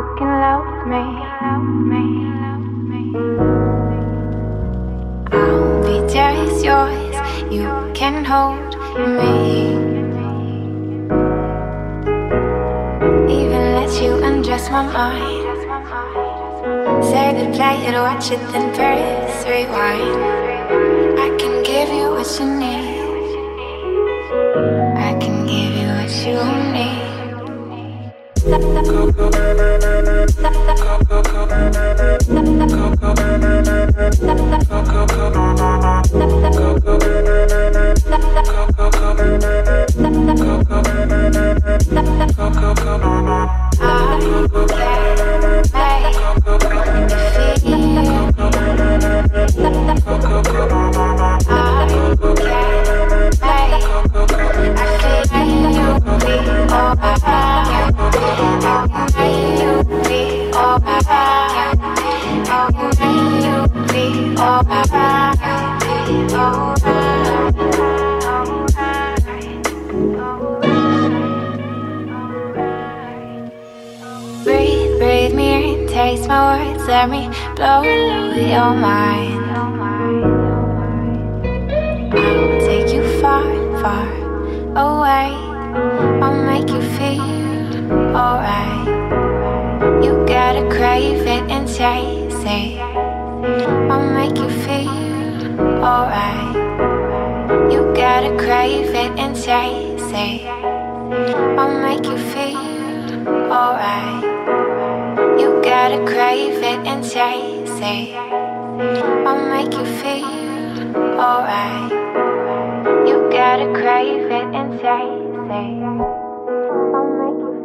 can love me, love me, love me. I'll be just yours, you can hold me. Even let you undress my mind. Say the play it, watch it, then press rewind. I can give you what you need. I can give you what you need. Breathe, breathe me in, taste my words, let me blow your mind. I'll take you far, far away. I'll make you feel alright. You gotta crave it and chase it. I'll make you feel alright. You gotta crave it and chase it. I'll make you feel alright. You gotta crave it and chase it. I'll make you feel alright. You gotta crave it and chase it. I'll make you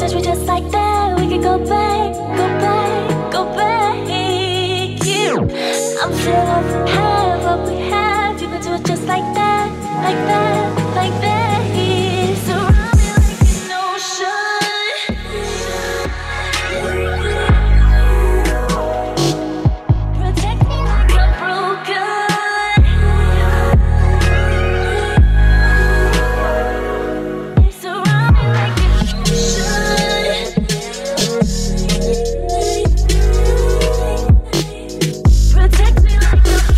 touch me just like that. We could go back, go back, go back. Yeah. I'm feeling what we have, what we have. You could do it just like that, like that, like that. Yeah. Surround me like an ocean. Protect me like I'm broken. Surround me like an ocean. Protect me like I'm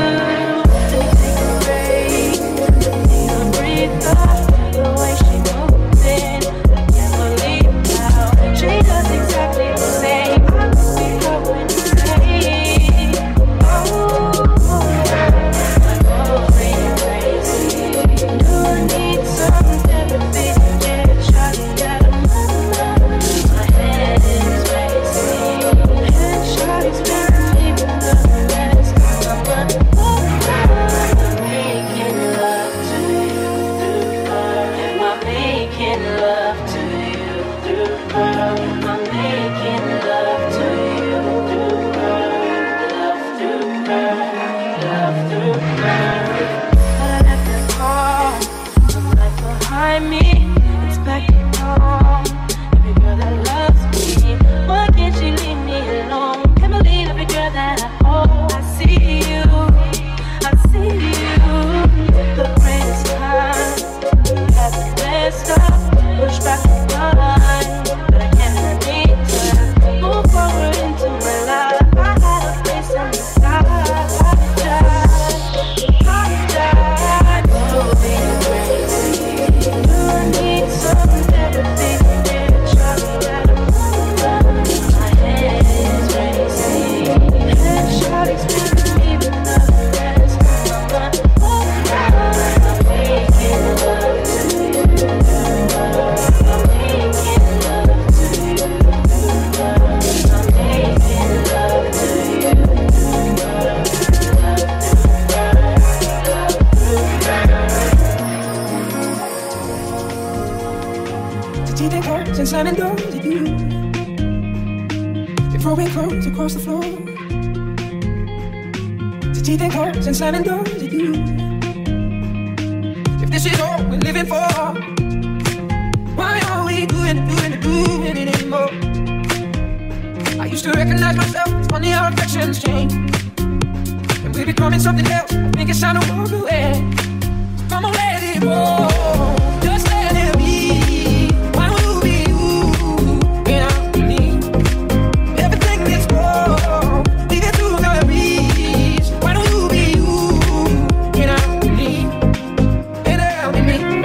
the way she moves. and slamming doors at you. We're throwing clothes across the floor. To teeth and claws and slamming doors at you. If this is all we're living for, why are we doing it anymore? I used to recognize myself, it's funny how affections change. And we're becoming something else, I think it's time to walk away. So come on, let it roll, just let it be. Why will be you, without me? Everything is wrong, leave it to the breeze. Why don't you be you, without me? Without me.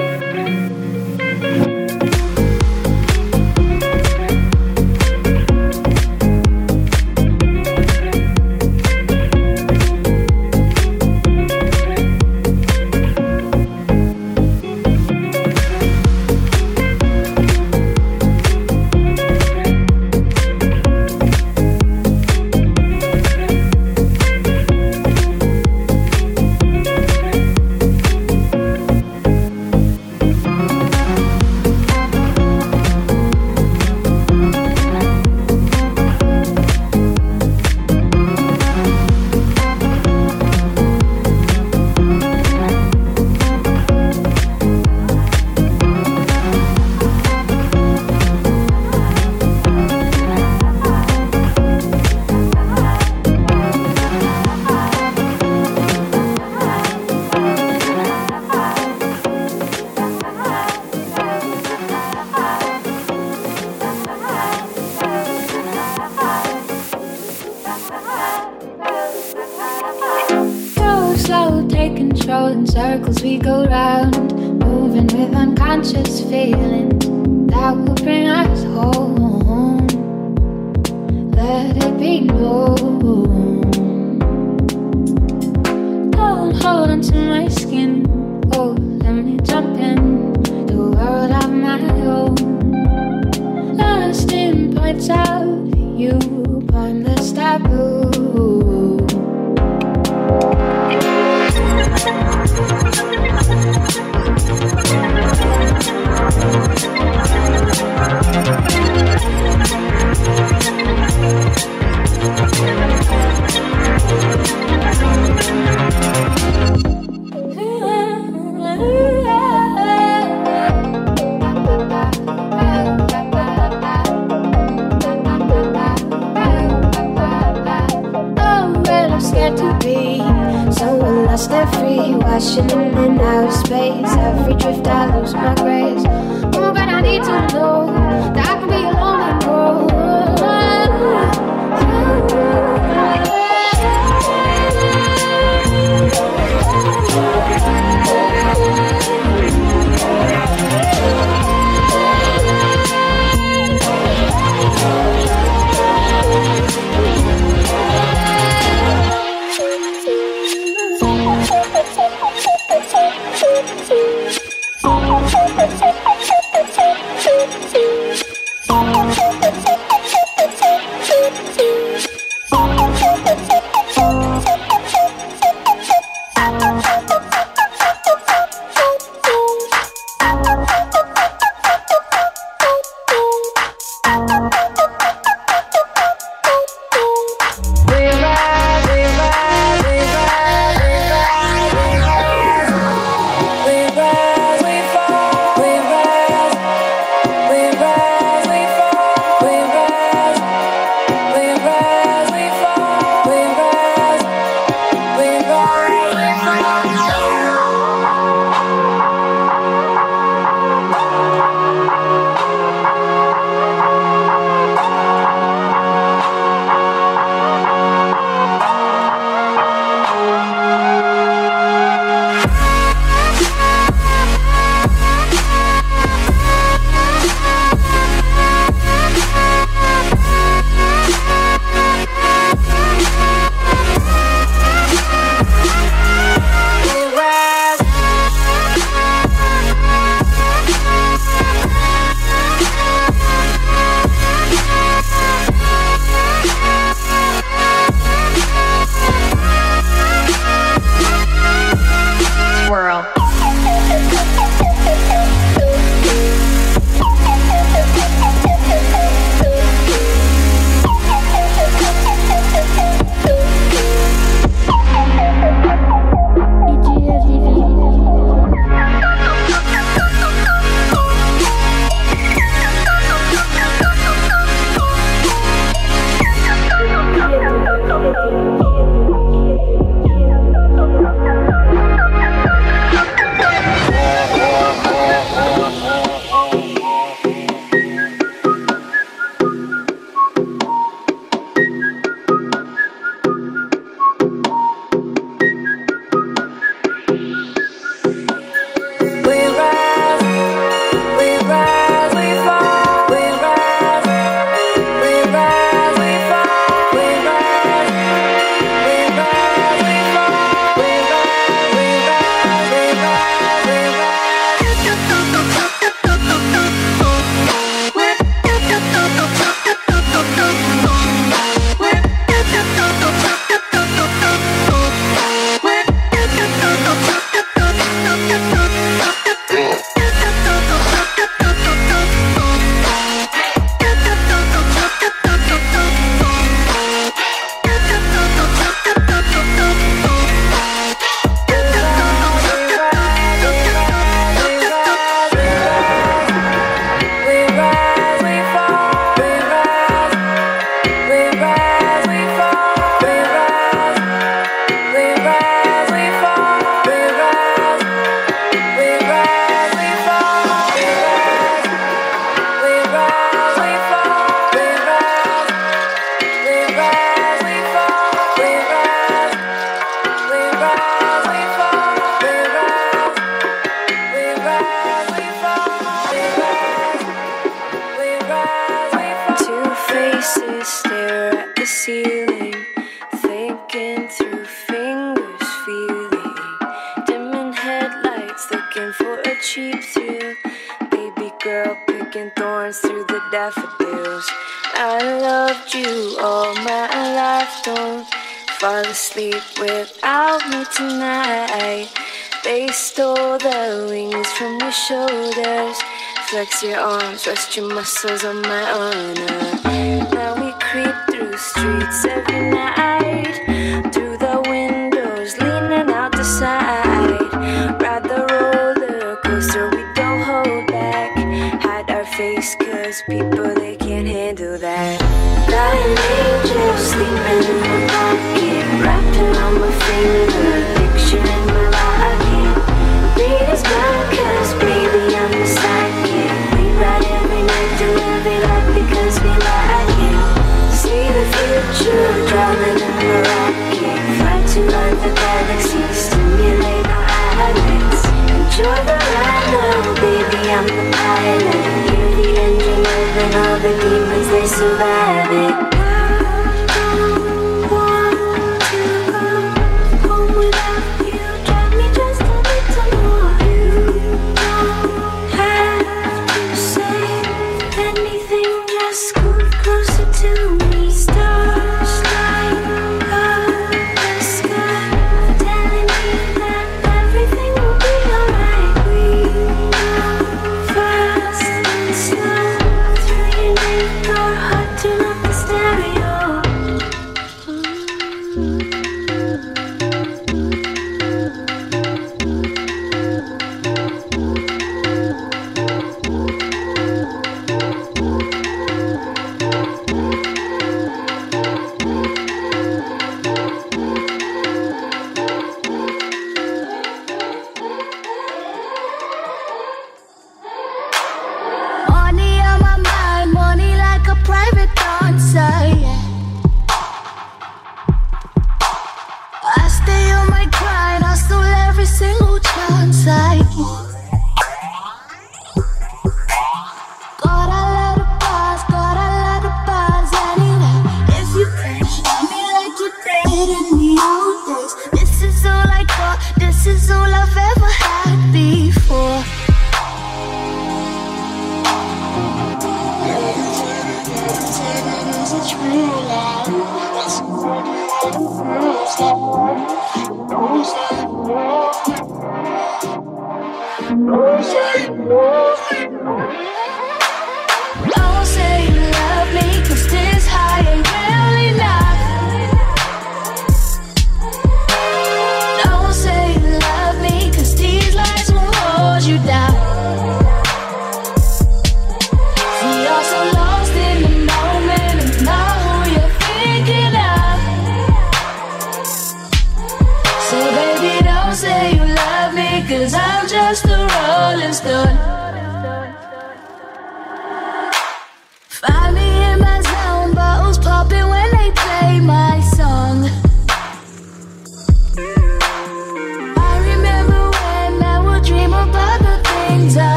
Circles we go round, moving with unconscious feelings that will bring us home. Let it be known. Don't hold on to my skin. Oh, let me jump in the world of my own. Lost in points of view, pointless taboo. They're free, washing in outer space. Every drift I lose my grace. Oh, but I need to know that I can be alone and grow. looking for a cheap thrill. Baby girl picking thorns through the daffodils. I loved you all my life, don't fall asleep without me tonight. They stole the wings from your shoulders. Flex your arms, rest your muscles on my honor. Now we creep through streets every night, through the windows, leaning out the side. Ride the roller coaster, we don't hold back. Hide our face, cause people, they can't handle that. Dying angel sleeping in my pocket, wrapping on my finger, picture in my locket. Read his mind, cause baby, I'm the sidekick. We ride every night through every life because we like it. See the future, driving in the rocket. Fly to other galaxies, stimulate our eyelids. Enjoy the ride now, baby, I'm the pilot. You're the engine moving all the demons, they survive it.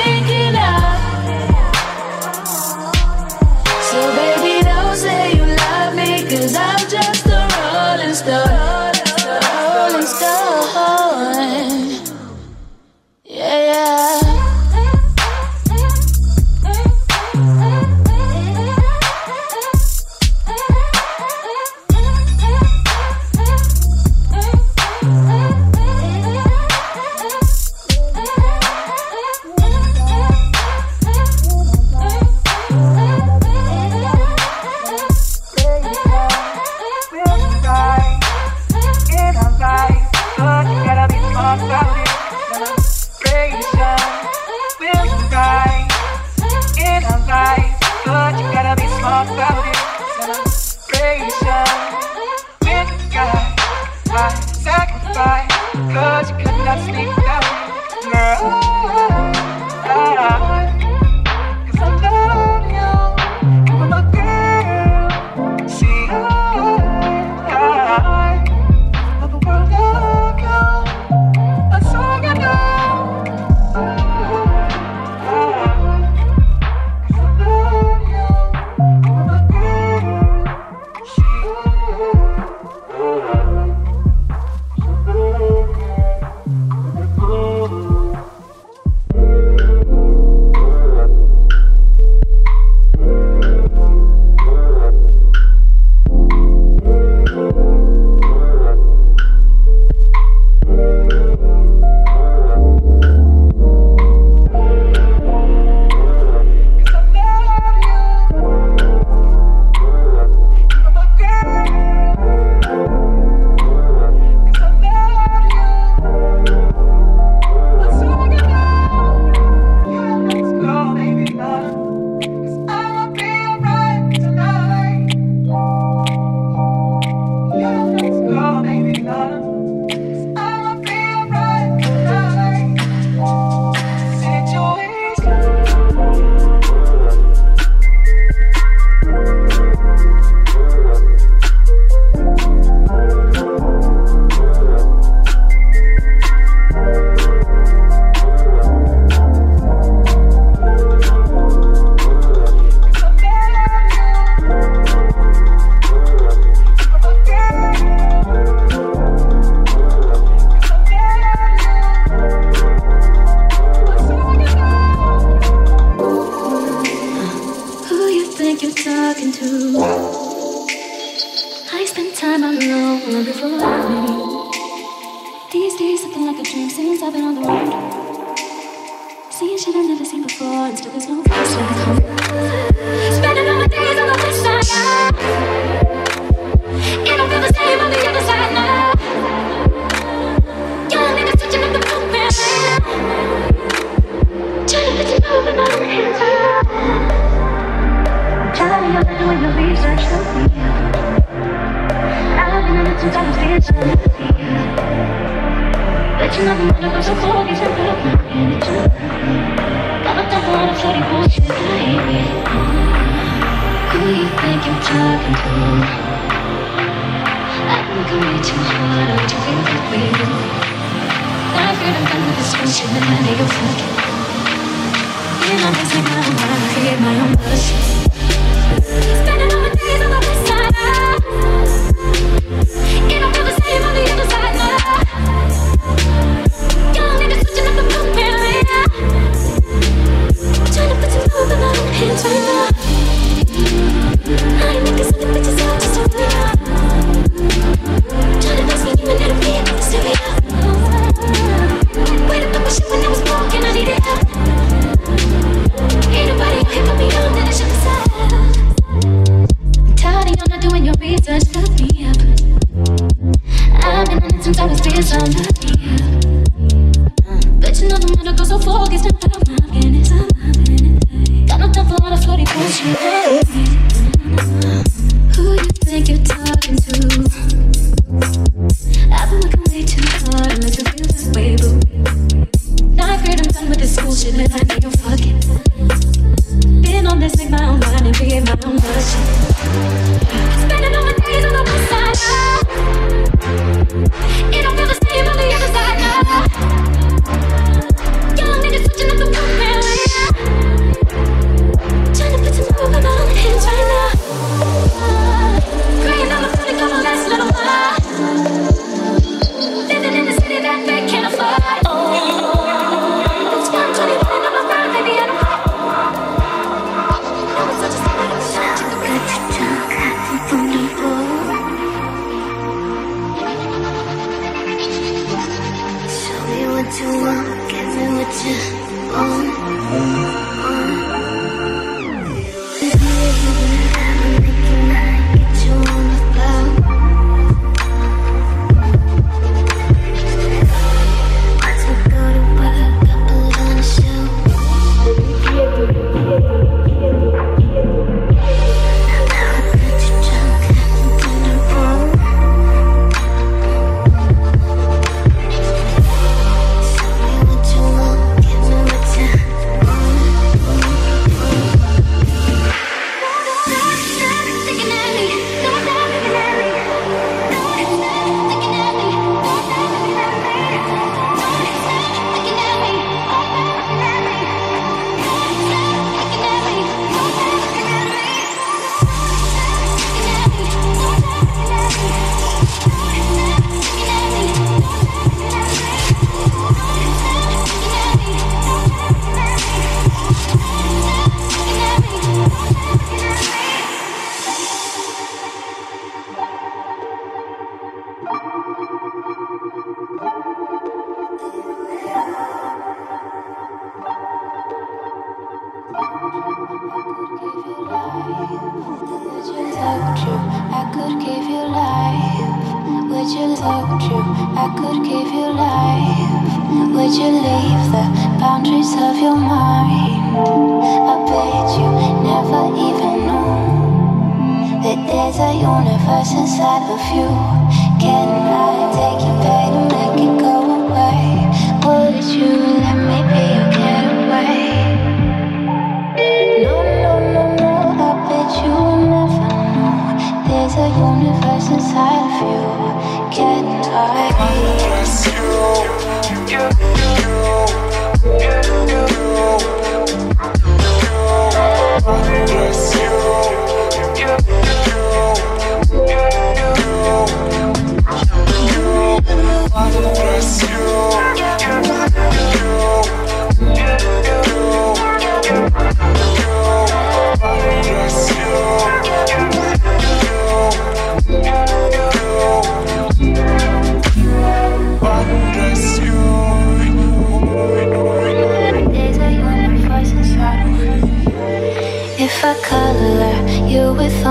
So baby, don't say you love time I'm alone, looking for me. These days, something like a dream since I've been on the road. Seeing shit I've never seen before, and still there's no place like home. Spending all my days on the west side now. It don't feel the same on the other side now. Young niggas switching up the movement now. Trying to put you over my hands up. Tired of doing your research to me. I've been in it since I was little. Bet you nothing but I'm so cold, it's not up my energy. Got my stuff on a floaty bullshit, I hate it. Who you think you're talking to? I've been looking way too hard, I don't feel that way. I'm afraid I'm done with this bullshit, and I need a fucking. You know this ain't my own mind, I create my own bullshit. Spending all my days on the west side now. It don't feel the same on the other side now. Young niggas switching up the movement now. Trying to put some love in my own hands right now. I ain't making some bitches out just to me out. Trying to fix me, you and that'll be it, serious. Wait up my shit when I was broken, I needed help. Ain't nobody out here put me on, then I should decide. Tired of you not doing your research, look me up. I've been in it since I was this on the but you know the mother goes so focused, not that I'm not getting it. Got no time for all the floaty bullshit. Who you think you're talking to? I've been looking way too hard to make you feel this way, boo. Now I'm afraid I'm done with this bullshit, and I need your fucking. Been on this, make my own mind and create my own bullshit. Spending all my days on the west side now. It don't feel the same on the other side now. Young niggas switching up the movement now. Trying to put some love in my own hands right now. Praying I'm gonna go the last little while. Living in the city that they can't afford. Oh, it's 1:21 and I'm around, baby, I don't care. No, it's such a show me what you want, give me what you want. I'm making I get you on the floor. Watch me go to work, I put on a show. Now I got you drunk, I'm in the room. Bless you.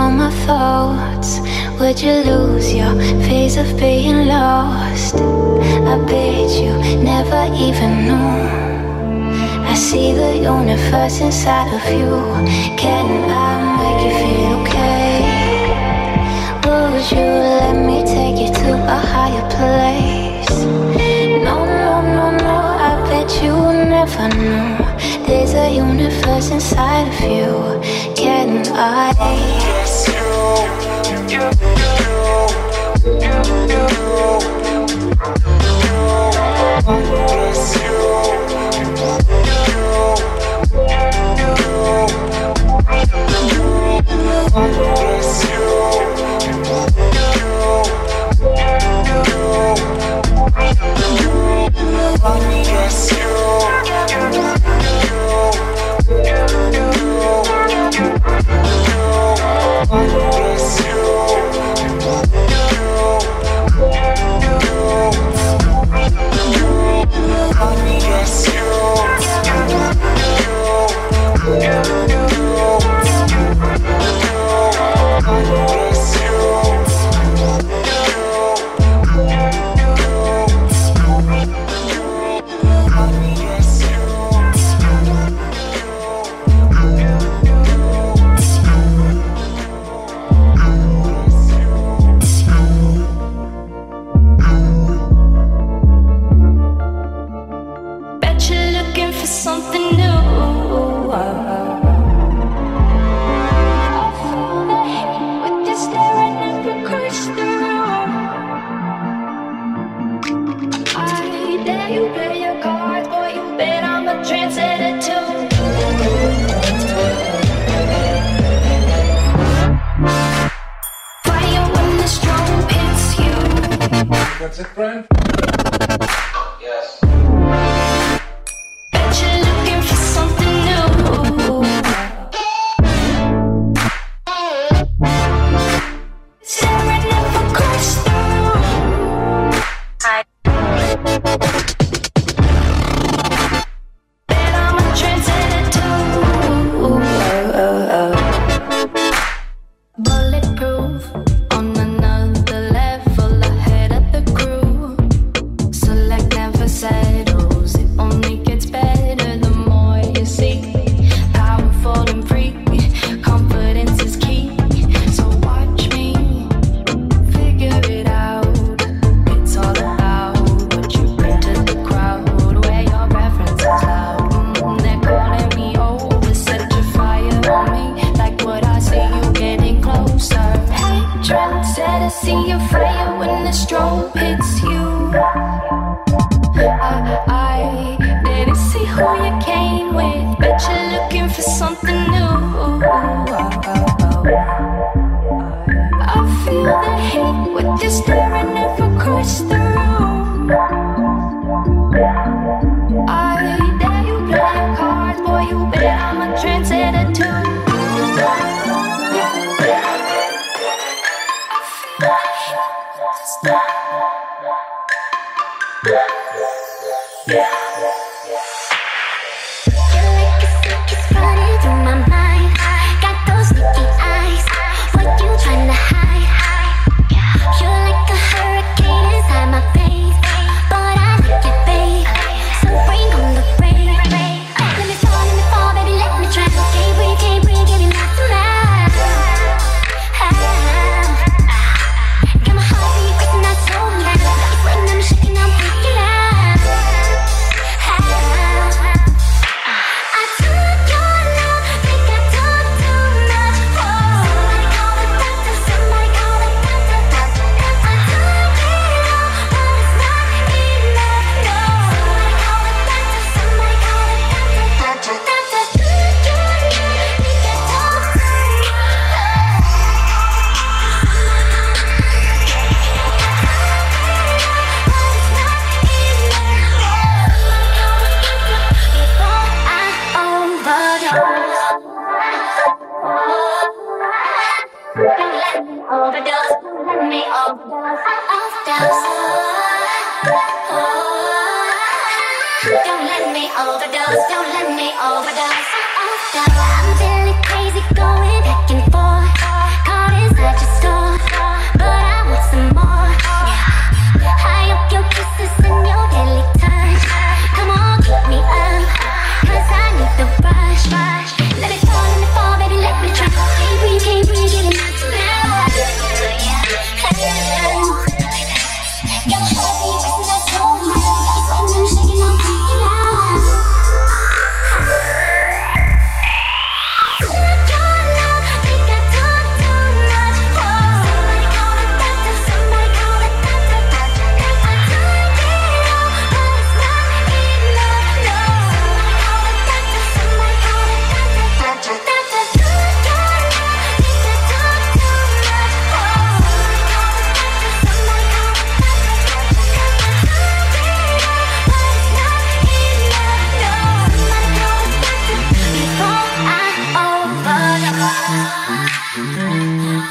all my thoughts. Would you lose your phase of being lost? I bet you never even knew. I see the universe inside of you. Can I make you feel okay? Would you let me take you to a higher place? No, no, no, no, I bet you never knew. There's a universe inside of you. Can I? That's it, Brian? Yes. Bet you're looking for something new. Staring up across the room. Bet I'm a trendsetter too. Bulletproof on another level. Ahead of the crew. Select never settles. It only gets better the more you see. Powerful and free. Confidence is key. So watch me figure it out. It's all about what you bring to the crowd. Where your preference is loud. They're calling me over. Set your fire on me. Like what I see, you getting closer. Hey, trendsetter, see your fire when the strobe hits you. I didn't see who you came with. Bet you're looking for something new. I feel the heat with you staring up across the room. I dare you play your cards, boy, you bet I'm a trendsetter too. I feel the heat with you staring. Feel like a sick is running through my mind. Got those sticky eyes. What you trying to hide? You're like a hurricane inside my face, but I like it, babe. So bring on the rain. Let me fall, baby, let me drown. Can't breathe, give me nothing now. Got my heartbeat racing, I told you. It's sweating, I'm shaking, I'm freaking out. I took your love, think I took too much. Somebody call the doctor, somebody call the doctor. I took it all, but it's not enough, no. Somebody call the doctor, somebody call the doctor. Doctor, took your love, think I took too Don't let me overdose. I'm feeling crazy, going back and forth.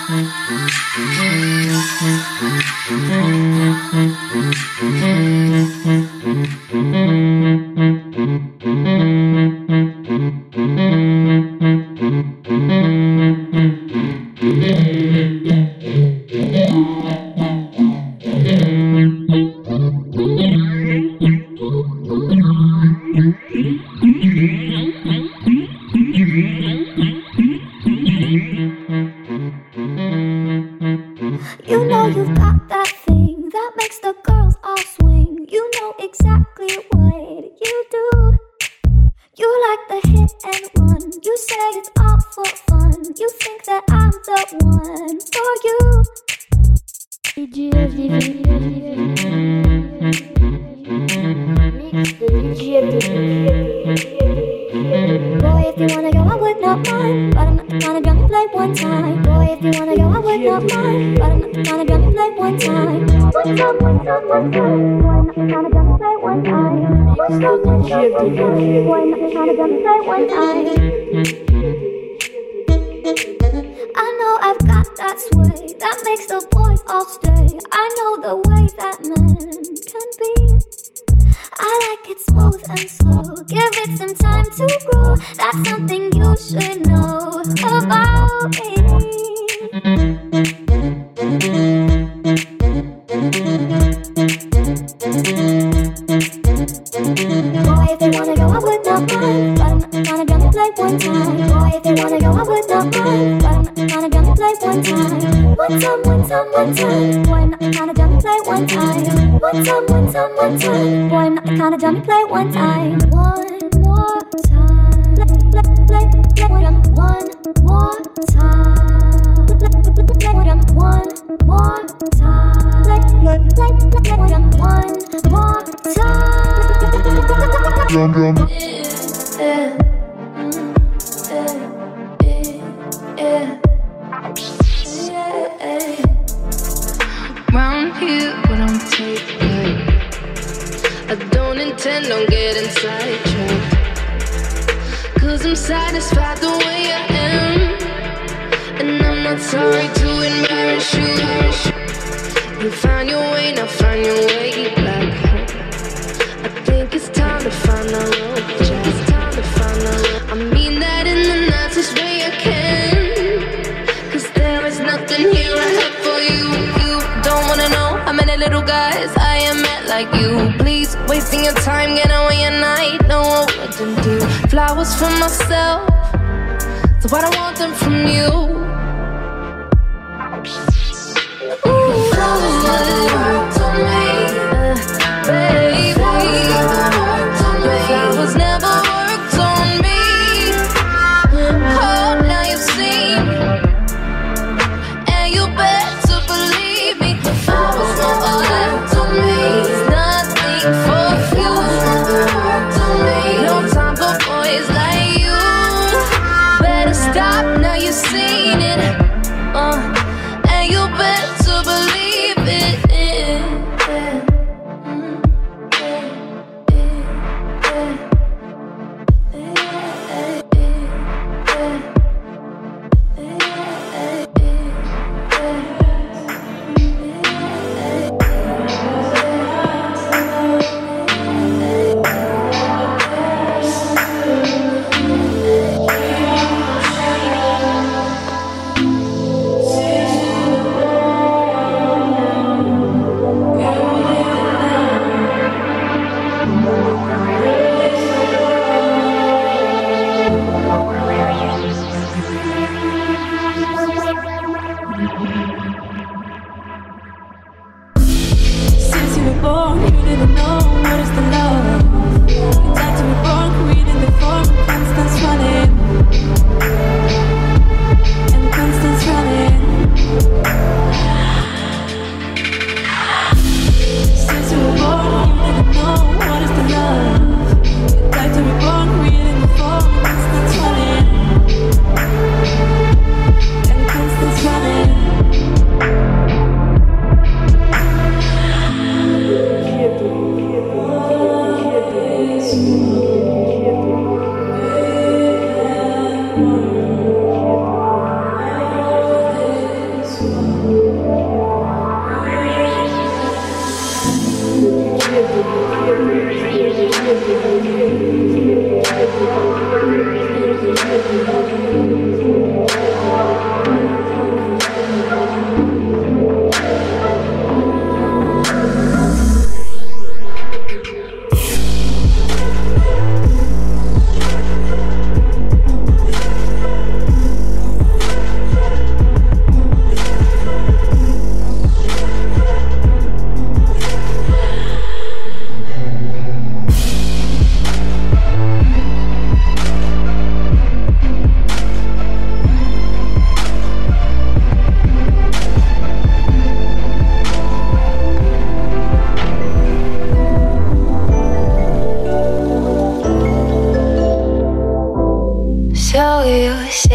You know you've got that thing that makes the girls all swing. You know exactly what you do. You like the hit and run. You say it's all for fun. You think that I'm the one for you. Boy, if you wanna go, I would not mind, but I'm not the kind of girl you play one time. Boy, if you wanna go, I would not mind, but I'm not the kind of girl you play one time. One time, one time, one time. Boy, I'm not the kind of girl you play one time. One time, one time, one time. Boy, I'm not the kind of girl you play one time. I know I've got that sway that makes the boys all stay. I know the way that men can be. I like it smooth and slow. Give it some time to grow. That's something you should know about me. Boy, if you wanna go, I would not mind, but I'm not the kind of girl you play one time. Boy, if you wanna go, I would not mind, but I'm not the kind of girl you play one time. One time, one time, one time. Boy, I'm not the kind of girl you play one time. One time, one time, one time. Boy, I'm not the kind of girl you play one time. One more time. Play one more time. Play one more time. Play one more Round here, we don't take it. I don't intend on getting sidetracked, 'cause I'm satisfied the way I am, and I'm not sorry to embarrass you. You found your way, now find your way back home. I think it's time to find our road, yeah. It's time to find our road. I mean that in the nicest way I can, 'cause there is nothing here I have for you. You don't wanna know how many little guys I am met like you. Please, wasting your time, get away at night. Know what to do. Flowers for myself, so I don't want them from you. Flowers never worked on me, baby. Flowers never worked on me. Oh, now you've seen, and you better believe me. Flowers never worked on me. There's nothing for you. No time for boys like you. Better stop, now you've seen it.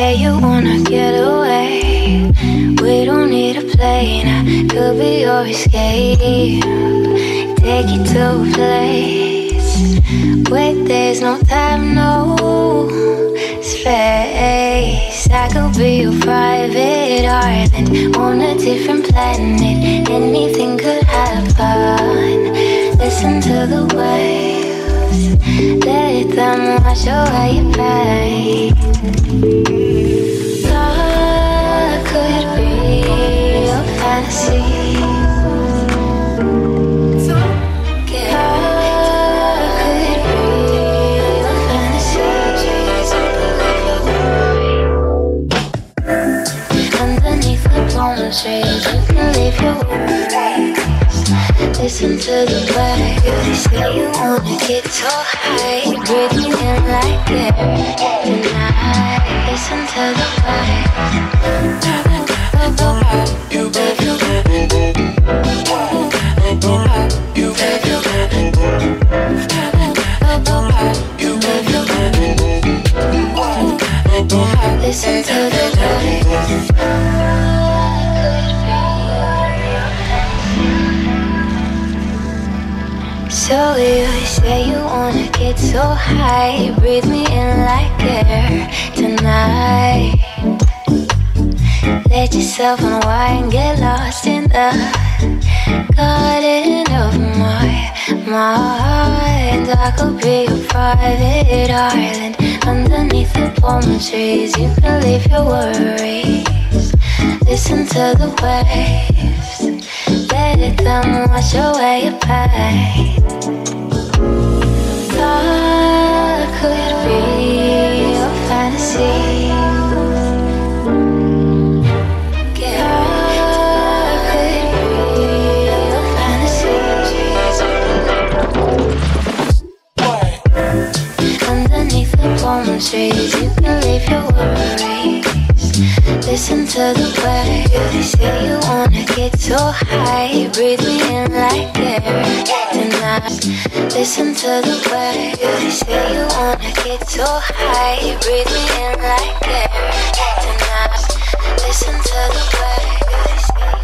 say you wanna get away. We don't need a plane, I could be your escape. Take you to a place where there's no time, no space. I could be your private island on a different planet. Anything could happen. Listen to the waves, let them wash away your pain. Love could be your fantasy. Trees, you can leave your worries. Listen to the waves. They say you wanna get so high. Breathe me in like air tonight. Listen to the waves. You leave your you leave your you leave your listen to the waves. So you say you wanna get so high. Breathe me in like air tonight. Let yourself unwind, get lost in the garden of my mind. I could be your private island underneath the palm trees. You can leave your worries. Listen to the waves, let them wash away your pain. Love could be your fantasy. Love could be your fantasy. Underneath the palm trees, you can leave your worries. Listen to the waves. They say you wanna get so high. Breathe me in like air tonight. Listen to the waves. They say you wanna get so high. Breathe me in like air tonight. Listen to the waves. They say you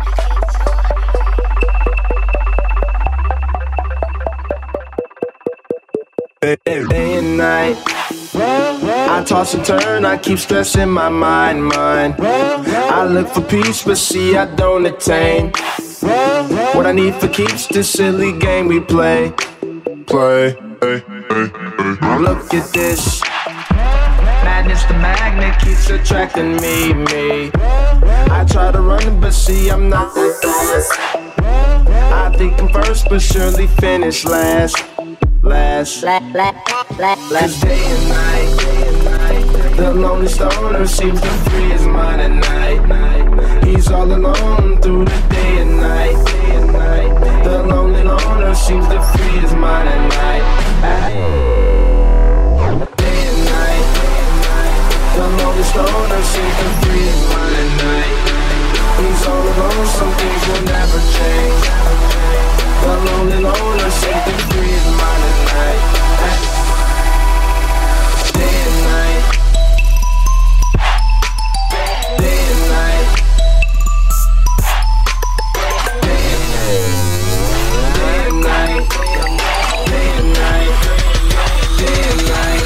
wanna get so high. Day and night, I toss and turn, I keep stressing my mind. I look for peace, but see I don't attain what I need for keeps this silly game we play. Look at this madness, the magnet keeps attracting me. I try to run, but see I'm not that fast. I think I'm first, but surely finish last. Cause day and night, the lonely stoner seems to free his mind at night. He's all alone through the day and night. The lonely loner seems to free his mind at night. Day and night, the lonely stoner seems to free his mind at night. He's all alone, some things will never change. The lonely loner seems to free his mind at night. Day and night, day and night, day and night, day and night, day and night, day and night.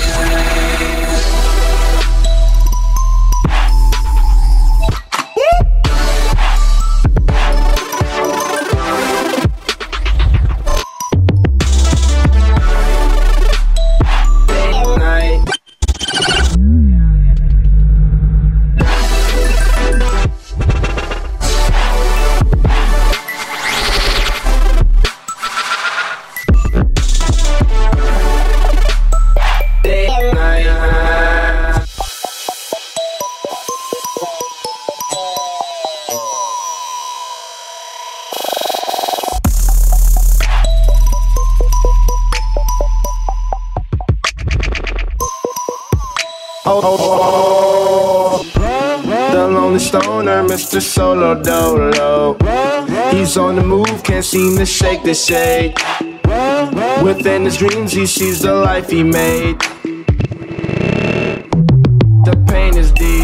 The lonely stoner, Mr. Solo Dolo. He's on the move, can't seem to shake the shade. Within his dreams, he sees the life he made. The pain is deep.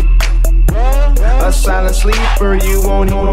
a silent sleeper, you won't hear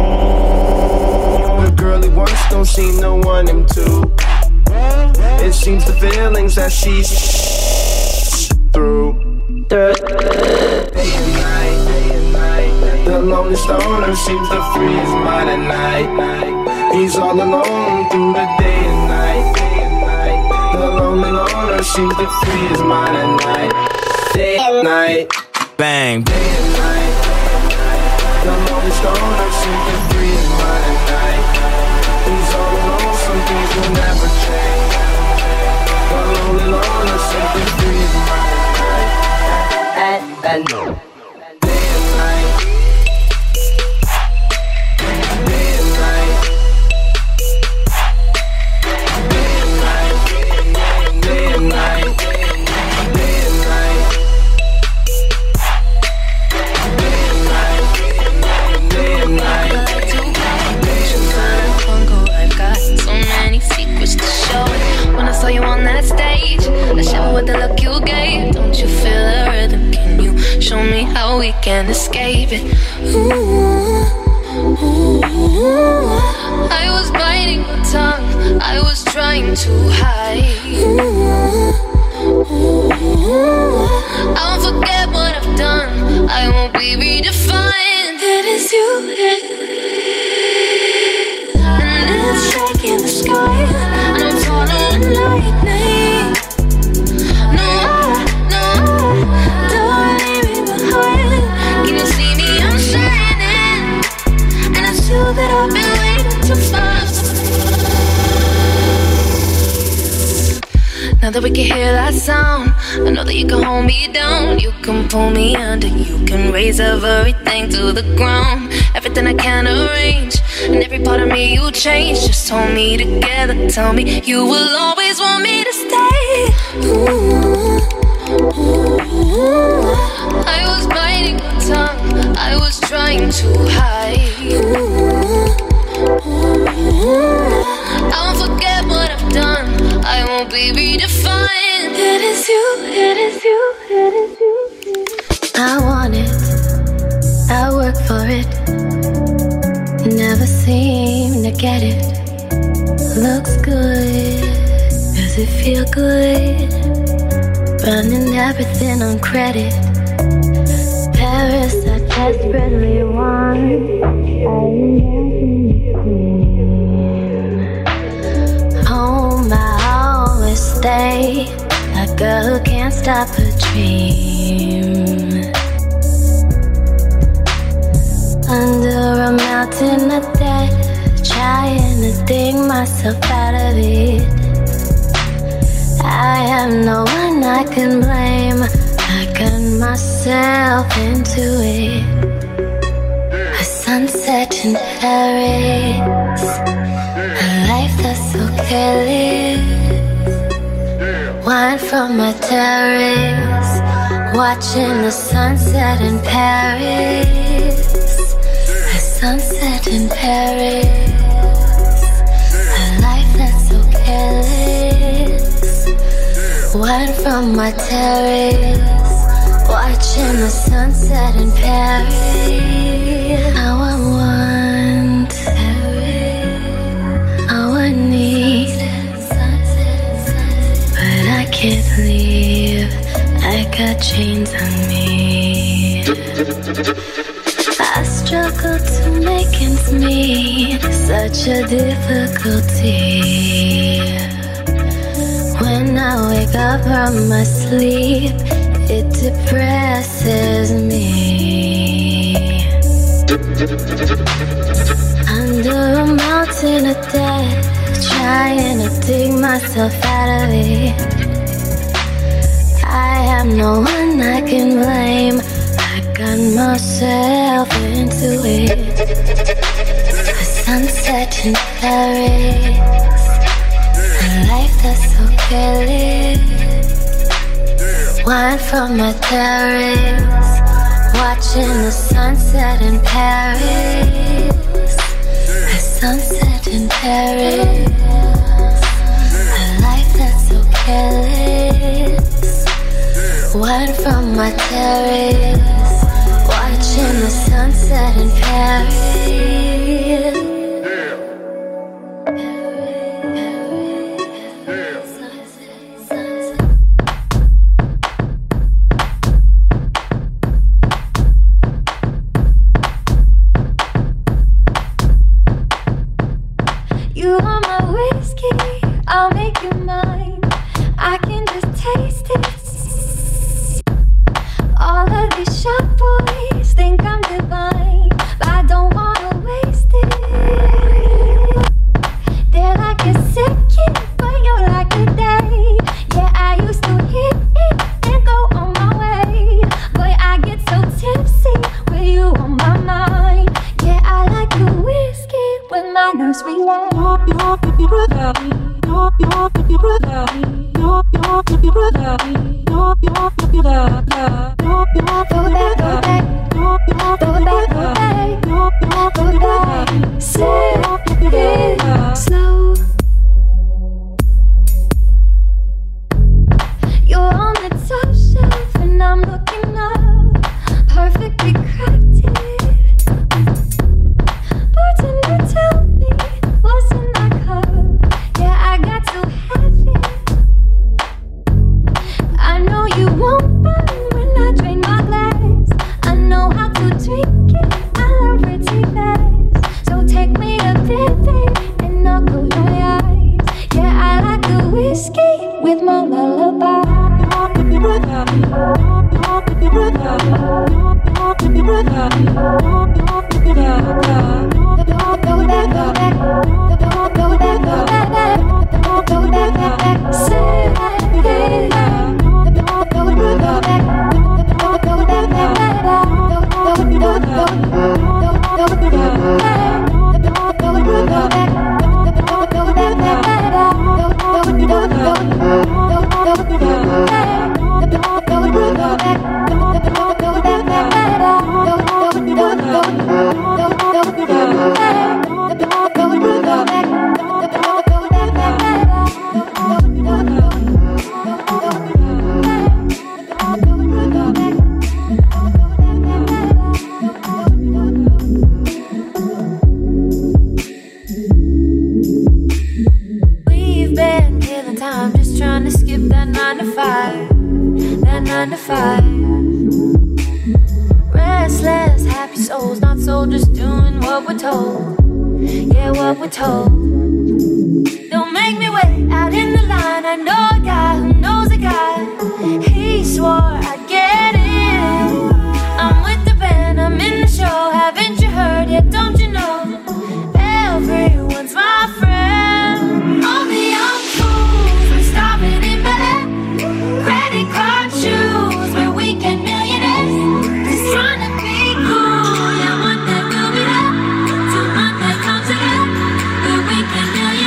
the girl he wants, don't seem to want him to. It seems the feelings that she's through. Day and night, the lonely stoner seems to free his mind at night. He's all alone through the day and night. The lonely loner seems to free his mind at night. Day and night, bang. Day and night, the lonely stoner seems to free his mind at night. He's all alone, some things will never change. The lonely loner seems to free his mind at night. Day and night, day and night, day and night, day and night, day and night, day and night. I've got so many secrets to show. When I saw you on that stage, I shiver with the look you gave. Don't you feel the rhythm? Can you show me how we can escape it? Ooh, ooh. I was biting my tongue, I was trying to hide. Ooh, I won't forget what I've done, I won't be redefined. It is you, and it's shaking the sky, and I'm following lightning. No, don't leave me behind. Can you see me? I'm shining, and it's you that I've been waiting to find. Now that we can hear that sound, I know that you can hold me down. You can pull me under, you can raise everything to the ground. Everything I can arrange, and every part of me you change. Just hold me together, tell me you will always want me to stay. Ooh, ooh. I was biting my tongue, I was trying to hide. Ooh, I won't forget what I've done, I won't be redefined. It is you, it is you, it is you. I want it, I work for it, never seem to get it. Looks good, does it feel good? Running everything on credit. Paris, I desperately want. Home, I always stay. A girl who can't stop her dream. Under a mountain of death, trying to dig myself out of it. I have no one I can blame. I got myself into it. A sunset in Paris, a life that's so careless. Wine from my terrace, watching the sunset in Paris. A sunset in Paris, a life that's so careless. Wine from my terrace, watching the sunset in Paris. How I want Paris, how I need, but I can't leave. I got chains on me. I struggle to make ends meet, such a difficulty. When I wake up from my sleep, it depresses me. Under a mountain of death, trying to dig myself out of it. I have no one I can blame. I got myself into it. A sunset in Paris, a life that's so careless. Wine from my terrace, watching the sunset in Paris. A sunset in Paris, a life that's so careless. Wine from my terrace, watching in the sunset in Paris. You are my whiskey, I'll make you mine. I can just taste it. All of these sharp boys think I'm divine, but I don't wanna waste it. They're like a second, but you're like a day. Yeah, I used to hit it and go on my way. Boy, I get so tipsy with you on my mind. Yeah, I like the whiskey with my nurse relax. Slow. You're on the top shelf and I'm looking up, perfectly crafted. Bartender, tell me what's in my cup. Yeah, I got to have it. I know you won't burn when I drain my glass. I know how to drink it, I learn pretty fast. So take me to bed and I'll close my eyes. Yeah, I like the whiskey with my lullaby. We've been killing time just trying to skip that 9 to 5. That 9 to 5. Restless, happy souls, not soldiers doing what we're told. Yeah, what we're told. Don't make me wait out in the line. I know a guy who knows a guy. He swore I'd get in. I'm with the band, I'm in the show. Haven't you heard yet? Don't you know? Everyone's my friend. Only young fools, we're starving in bed. Credit card shoes, we're weekend millionaires. Just trying to be cool, yeah, one day we'll be there. Till Monday comes again, we're weekend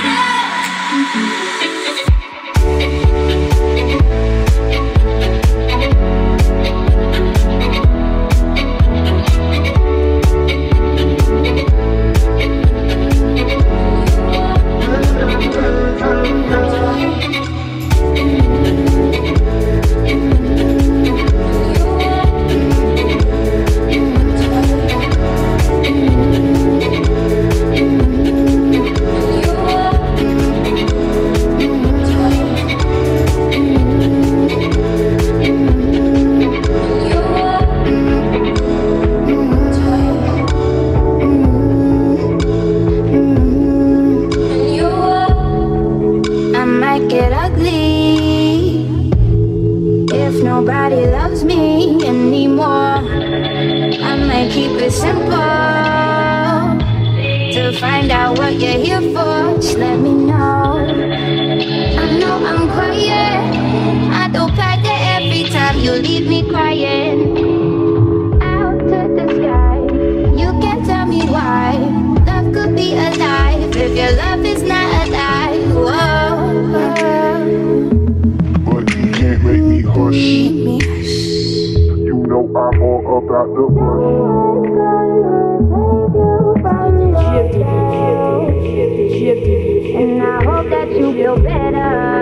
find out what you're here for. Just let me know. I know I'm quiet. I don't pack it every time you leave me crying. Out to the sky. You can tell me why. Love could be alive if your love is not alive. Whoa. But you can't make me hush. You know I'm all about the bush. And I hope that you feel better.